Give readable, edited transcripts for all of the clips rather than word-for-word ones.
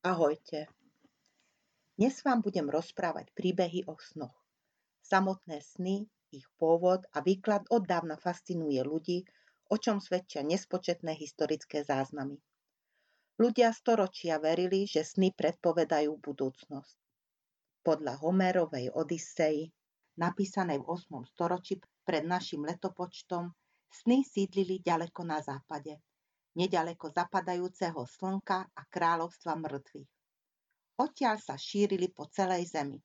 Ahojte. Dnes vám budem rozprávať príbehy o snoch. Samotné sny, ich pôvod a výklad oddávna fascinuje ľudí, o čom svedčia nespočetné historické záznamy. Ľudia storočia verili, že sny predpovedajú budúcnosť. Podľa Homérovej Odysei, napísanej v 8. storočí pred našim letopočtom, sny sídlili ďaleko na západe, neďaleko zapadajúceho slnka a kráľovstva mŕtvych. Odtiaľ sa šírili po celej zemi.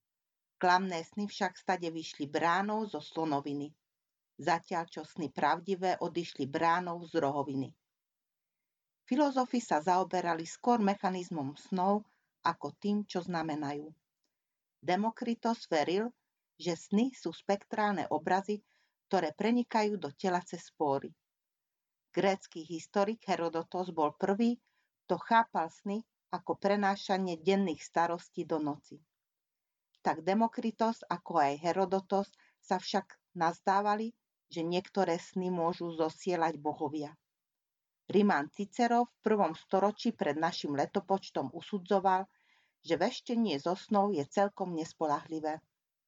Klamné sny však stade vyšli bránou zo slonoviny, zatiaľ čo sny pravdivé odišli bránou z rohoviny. Filozofi sa zaoberali skôr mechanizmom snov ako tým, čo znamenajú. Demokritos veril, že sny sú spektrálne obrazy, ktoré prenikajú do tela cez spóry. Grécky historik Herodotos bol prvý, kto chápal sny ako prenášanie denných starostí do noci. Tak Demokritos ako aj Herodotos sa však nazdávali, že niektoré sny môžu zosielať bohovia. Rimán Cicero v 1. storočí pred našim letopočtom usudzoval, že veštenie zo snov je celkom nespoľahlivé.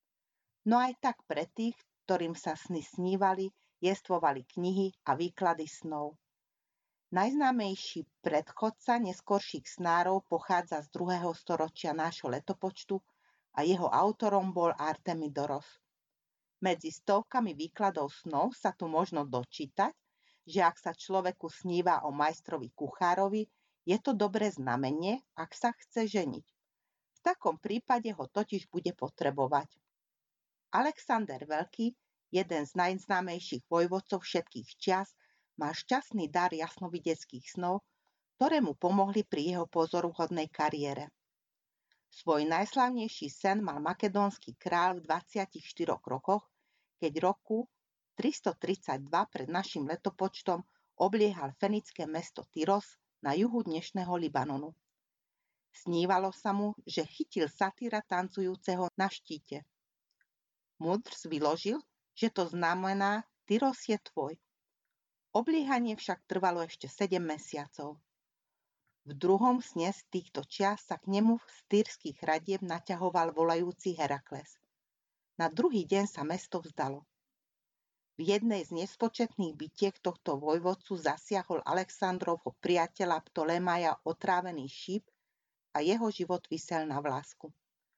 No aj tak pre tých, ktorým sa sny snívali, jestvovali knihy a výklady snov. Najznámejší predchodca neskorších snárov pochádza z 2. storočia nášho letopočtu a jeho autorom bol Artemidoros. Medzi stovkami výkladov snov sa tu možno dočítať, že ak sa človeku sníva o majstrovi kuchárovi, je to dobré znamenie, ak sa chce ženiť. V takom prípade ho totiž bude potrebovať. Alexander Veľký, jeden z najznámejších vojvodcov všetkých čias, má šťastný dar jasnovideckých snov, ktoré mu pomohli pri jeho pozoruhodnej kariére. Svoj najslavnejší sen mal makedónsky kráľ v 24 rokoch, keď roku 332 pred našim letopočtom obliehal fenické mesto Tyros na juhu dnešného Libanonu. Snívalo sa mu, že chytil satyra tancujúceho na štíte. Mudrc vyložil, že to znamená Tyros je tvoj. Obliehanie však trvalo ešte 7 mesiacov. V druhom sne z týchto čias sa k nemu z tyrských hradieb naťahoval volajúci Herakles. Na druhý deň sa mesto vzdalo. V jednej z nespočetných bitiek tohto vojvodcu zasiahol Alexandrovho priateľa Ptolemaja otrávený šíp a jeho život visel na vlásku.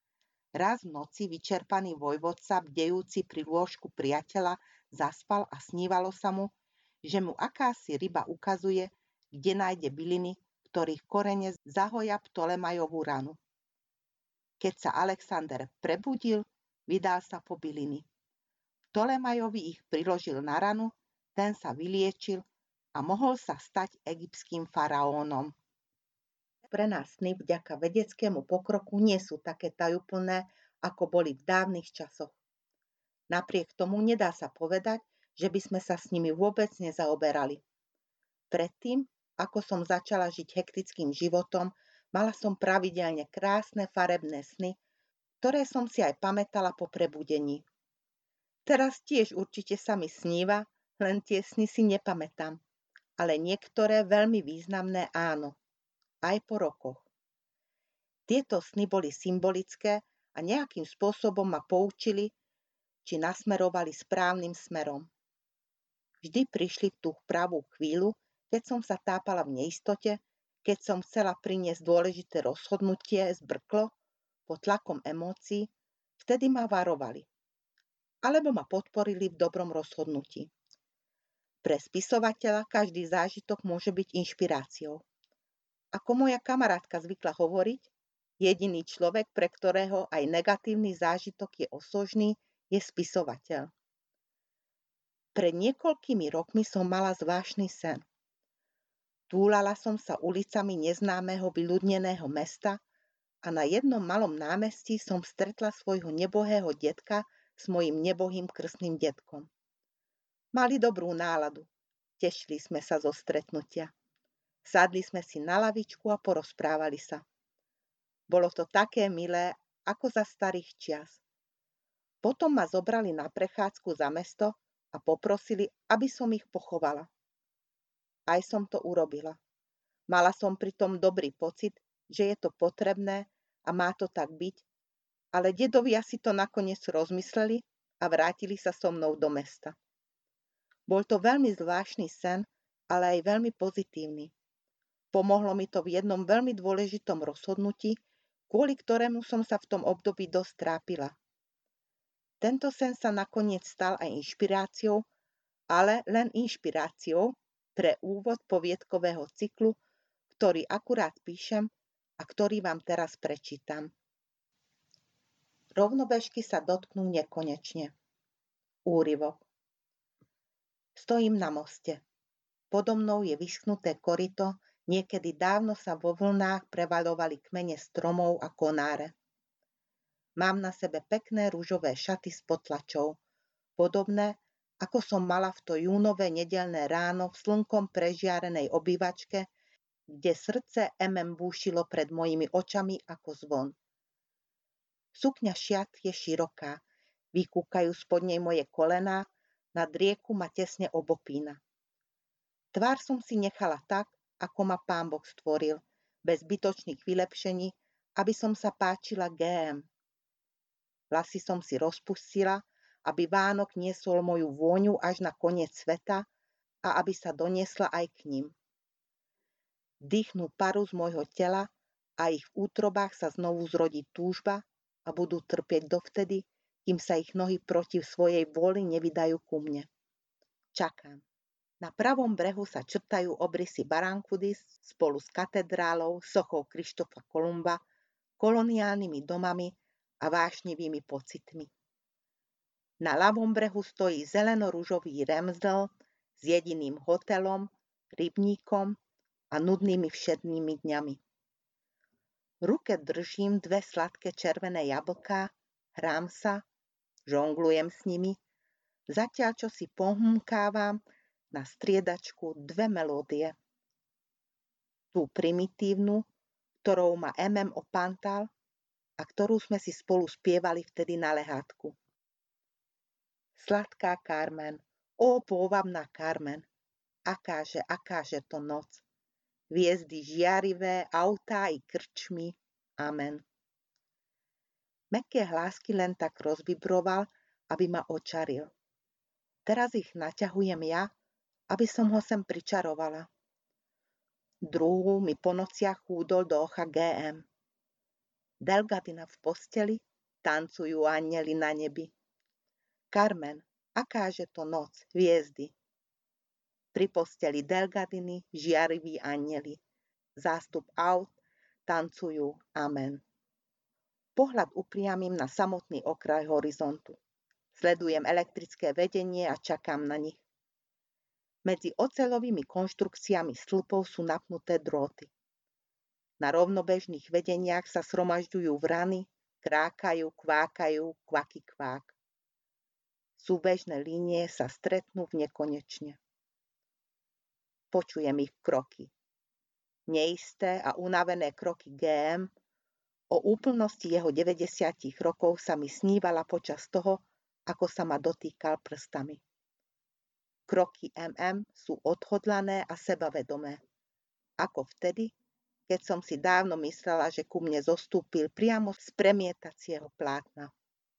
Raz v noci vyčerpaný vojvodca, bdejúci pri lôžku priateľa, zaspal a snívalo sa mu, že mu akási ryba ukazuje, kde nájde byliny, ktorých korene zahoja Ptolemajovú ranu. Keď sa Alexander prebudil, vydal sa po byliny. Ptolemajovi ich priložil na ranu, ten sa vyliečil a mohol sa stať egyptským faraónom. Pre nás sny vďaka vedeckému pokroku nie sú také tajúplné, ako boli v dávnych časoch. Napriek tomu nedá sa povedať, že by sme sa s nimi vôbec nezaoberali. Predtým, ako som začala žiť hektickým životom, mala som pravidelne krásne farebné sny, ktoré som si aj pamätala po prebudení. Teraz tiež určite sa mi sníva, len tie sny si nepamätám, ale niektoré veľmi významné áno, aj po rokoch. Tieto sny boli symbolické a nejakým spôsobom ma poučili, či nasmerovali správnym smerom. Vždy prišli v tú pravú chvíľu, keď som sa tápala v neistote, keď som chcela priniesť dôležité rozhodnutie zbrklo, pod tlakom emócií, vtedy ma varovali. Alebo ma podporili v dobrom rozhodnutí. Pre spisovateľa každý zážitok môže byť inšpiráciou. Ako moja kamarátka zvykla hovoriť, jediný človek, pre ktorého aj negatívny zážitok je osožný, je spisovateľ. Pred niekoľkými rokmi som mala zvláštny sen. Túlala som sa ulicami neznámeho vyľudneného mesta a na jednom malom námestí som stretla svojho nebohého detka s mojím nebohým krstným detkom. Mali dobrú náladu, tešili sme sa zo stretnutia. Sadli sme si na lavičku a porozprávali sa. Bolo to také milé, ako za starých čias. Potom ma zobrali na prechádzku za mesto a poprosili, aby som ich pochovala. Aj som to urobila. Mala som pritom dobrý pocit, že je to potrebné a má to tak byť, ale dedovia si to nakoniec rozmysleli a vrátili sa so mnou do mesta. Bol to veľmi zvláštny sen, ale aj veľmi pozitívny. Pomohlo mi to v jednom veľmi dôležitom rozhodnutí, kvôli ktorému som sa v tom období dosť trápila. Tento sen sa nakoniec stal aj inšpiráciou, ale len inšpiráciou pre úvod poviedkového cyklu, ktorý akurát píšem a ktorý vám teraz prečítam. Rovnobežky sa dotknú nekonečne. Úryvok. Stojím na moste. Podo mnou je vyschnuté koryto, niekedy dávno sa vo vlnách prevaľovali kmene stromov a konáre. Mám na sebe pekné ružové šaty s potlačou, podobné, ako som mala v to júnové nedeľné ráno v slnkom prežiarenej obývačke, kde srdce búšilo pred mojimi očami ako zvon. Sukňa šiat je široká, vykúkajú spod nej moje kolená, nad rieku ma tesne obopína. Tvár som si nechala tak, ako ma Pán Boh stvoril, bez zbytočných vylepšení, aby som sa páčila GM. Vlasy som si rozpustila, aby Vánok niesol moju vôňu až na koniec sveta a aby sa doniesla aj k ním. Dýchnú paru z môjho tela a ich v útrobách sa znovu zrodí túžba a budú trpieť dovtedy, kým sa ich nohy proti svojej vôli nevydajú ku mne. Čakám. Na pravom brehu sa črtajú obrysy Barankudis spolu s katedrálou, sochou Krištofa Kolumba, koloniálnymi domami a vášnivými pocitmi. Na ľavom brehu stojí zeleno-ružový Ramsdale s jediným hotelom, rybníkom a nudnými všednými dňami. V ruke držím 2 sladké červené jablká, hrám sa, žonglujem s nimi, zatiaľ čo si pohmkávam na striedačku 2 melódie. Tú primitívnu, ktorou ma opántal a ktorú sme si spolu spievali vtedy na lehátku. Sladká Carmen, ó pôvabná Carmen, akáže to noc. Hviezdy žiarivé, autá i krčmy, amen. Mäkké hlásky len tak rozvibroval, aby ma očaril. Teraz ich naťahujem ja, aby som ho sem pričarovala. Druhú mi po nociach húdol do ocha GM. Delgadina v posteli, tancujú anjeli na nebi. Carmen, akáže to noc, hviezdy. Pri posteli Delgadiny, žiariví anjeli. Zástup aut, tancujú, amen. Pohľad upriamím na samotný okraj horizontu. Sledujem elektrické vedenie a čakám na nich. Medzi oceľovými konštrukciami stĺpov sú napnuté drôty. Na rovnobežných vedeniach sa sromažďujú vrany, krákajú, kvákajú, kvaky kvák. Súbežné línie sa stretnú v nekonečne. Počujem ich kroky. Neisté a unavené kroky GM. O úplnosti jeho 90 rokov sa mi snívala počas toho, ako sa ma dotýkal prstami. Kroky sú odhodlané a sebavedomé. Ako vtedy, keď som si dávno myslela, že ku mne zostúpil priamo z premietacieho plátna.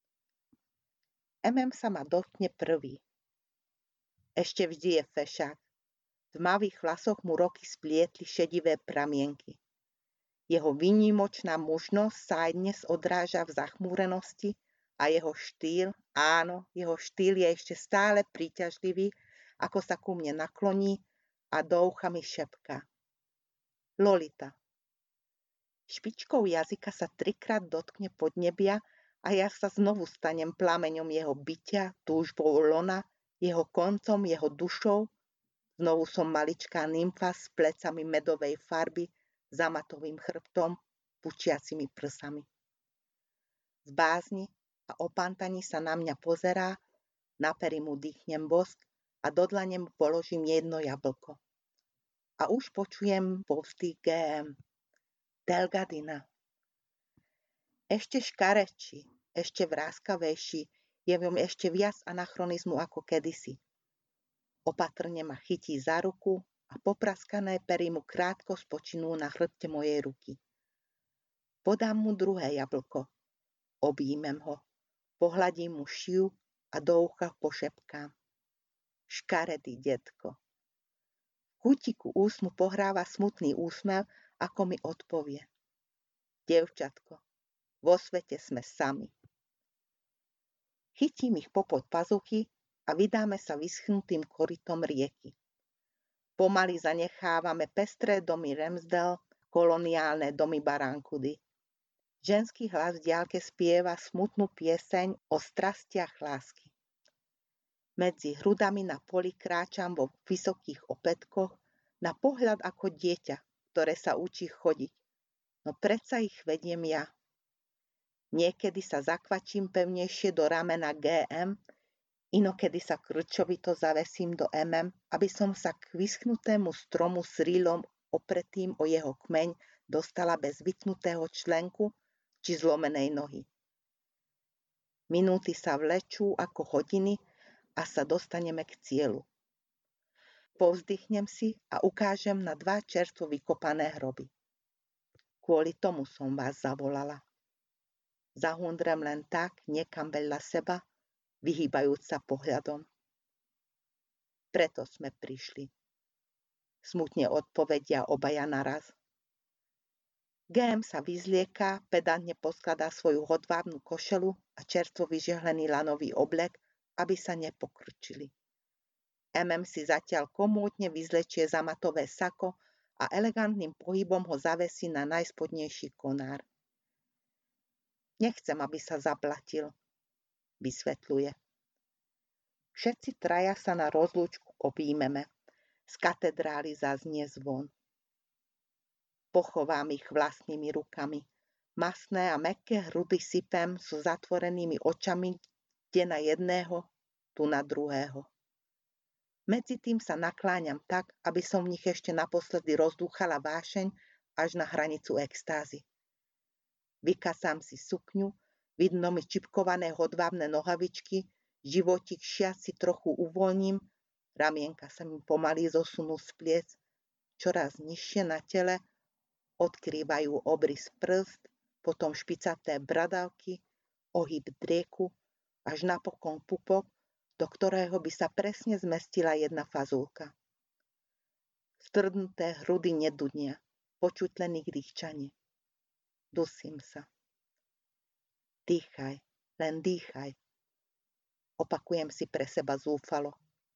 Sa ma dotkne prvý. Ešte vždy je fešák. V tmavých vlasoch mu roky splietli šedivé pramienky. Jeho výnimočná mužnosť sa aj dnes odráža v zachmúrenosti a jeho štýl, áno, jeho štýl je ešte stále príťažlivý, ako sa ku mne nakloní a do ucha mi šepká. Lolita. Špičkou jazyka sa 3-krát dotkne podnebia a ja sa znovu stanem plameňom jeho bytia, túžbou lona, jeho koncom, jeho dušou. Znovu som maličká nymfa s plecami medovej farby, zamatovým chrbtom, pučiacimi prsami. Z bázni a opántaní sa na mňa pozerá, na pery mu dýchnem bosk a do dlane mu položím jedno jablko. A už počujem povzdych GM. Delgadina. Ešte škarečí, ešte vráskavejší, je v ňom ešte viac anachronizmu ako kedysi. Opatrne ma chytí za ruku a popraskané pery mu krátko spočinú na chrbte mojej ruky. Podám mu druhé jablko. Objímem ho. Pohľadím mu šiu a do ucha pošepkám. Škaredý detko. V kútiku úsmu pohráva smutný úsmev, ako mi odpovie. Dievčatko, vo svete sme sami. Chytím ich popod pazuchy a vydáme sa vyschnutým korytom rieky. Pomaly zanechávame pestré domy Ramsdale, koloniálne domy Barrancudy. Ženský hlas v diaľke spieva smutnú pieseň o strastiach lásky. Medzi hrudami na poli kráčam vo vysokých opätkoch, na pohľad ako dieťa, ktoré sa učí chodiť. No predsa ich vediem ja. Niekedy sa zakvačím pevnejšie do ramena GM, inokedy sa krčovito zavesím do MM, aby som sa k vyschnutému stromu s rýlom opretým o jeho kmeň dostala bez vytnutého členku či zlomenej nohy. Minúty sa vlečú ako hodiny a sa dostaneme k cieľu. Povzdychnem si a ukážem na 2 čerstvo vykopané hroby. Kvôli tomu som vás zavolala. Zahundrem len tak, niekam vedľa seba, vyhýbajúc sa pohľadom. Preto sme prišli. Smutne odpovedia obaja naraz. GM sa vyzlieka, pedantne poskladá svoju hodvábnu košelu a čerstvo vyžehlený lanový oblek, aby sa nepokrčili. MM si zatiaľ komódne vyzlečie zamatové sako a elegantným pohybom ho zavesí na najspodnejší konár. Nechcem, aby sa zaplatil, vysvetľuje. Všetci traja sa na rozlúčku objímeme. Z katedrály zaznie zvon. Pochovám ich vlastnými rukami. Masné a mäkké hrudy sypem so zatvorenými očami, kde na jedného, tu na druhého. Medzi tým sa nakláňam tak, aby som v nich ešte naposledy rozdúchala vášeň až na hranicu extázy. Vykasám si sukňu, vidno mi čipkované hodvábne nohavičky, životík šiaci trochu uvoľním, ramienka sa mi pomaly zosunú z pliec, čoraz nižšie na tele, odkrývajú obrys prst, potom špicaté bradavky, ohyb drieku, až napokon pupok, do ktorého by sa presne zmestila jedna fazulka. Stvrdnuté hrudy nedunia, počuť len ich dýchčanie. Dusím sa. Dýchaj, len dýchaj. Opakujem si pre seba zúfalo.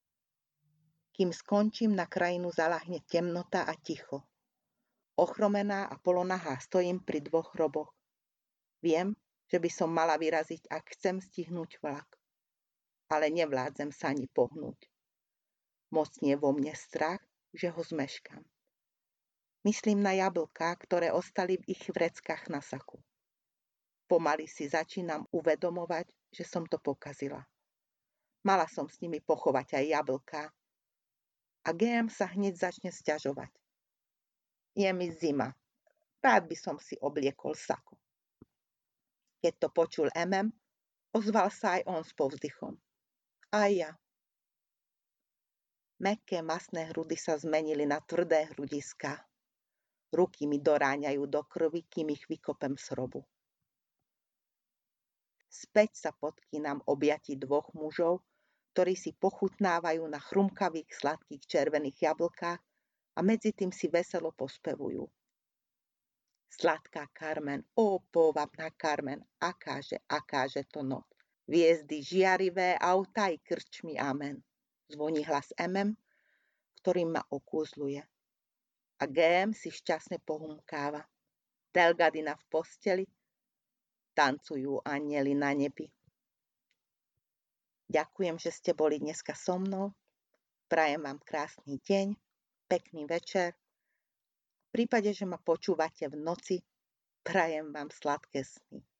Kým skončím, na krajinu zaľahne temnota a ticho. Ochromená a polonahá stojím pri 2 hroboch. Viem, že by som mala vyraziť, ak chcem stihnúť vlak. Ale nevládzem sa ani pohnúť. Mocnie vo mne strach, že ho zmeškam. Myslím na jablká, ktoré ostali v ich vreckách na saku. Pomaly si začínam uvedomovať, že som to pokazila. Mala som s nimi pochovať aj jablká. A GM sa hneď začne sťažovať. Je mi zima. Rád by som si obliekol saku. Keď to počul MM, ozval sa aj on s povzdychom. A ja. Mäkké masné hrudy sa zmenili na tvrdé hrudiská. Ruky mi doráňajú do krvi, kým ich vykopem z hrobu. Späť sa podkýnam objatí 2 mužov, ktorí si pochutnávajú na chrumkavých sladkých červených jablkách a medzi tým si veselo pospevujú. Sladká Carmen, ó pôvabná Carmen, akáže to noc. Hviezdy žiarivé, autá i krčmi, amen. Zvoní hlas MM, ktorým ma okúzluje. A GM si šťastne pohumkáva. Delgadina v posteli, tancujú anjeli na nebi. Ďakujem, že ste boli dneska so mnou. Prajem vám krásny deň, pekný večer. V prípade, že ma počúvate v noci, prajem vám sladké sny.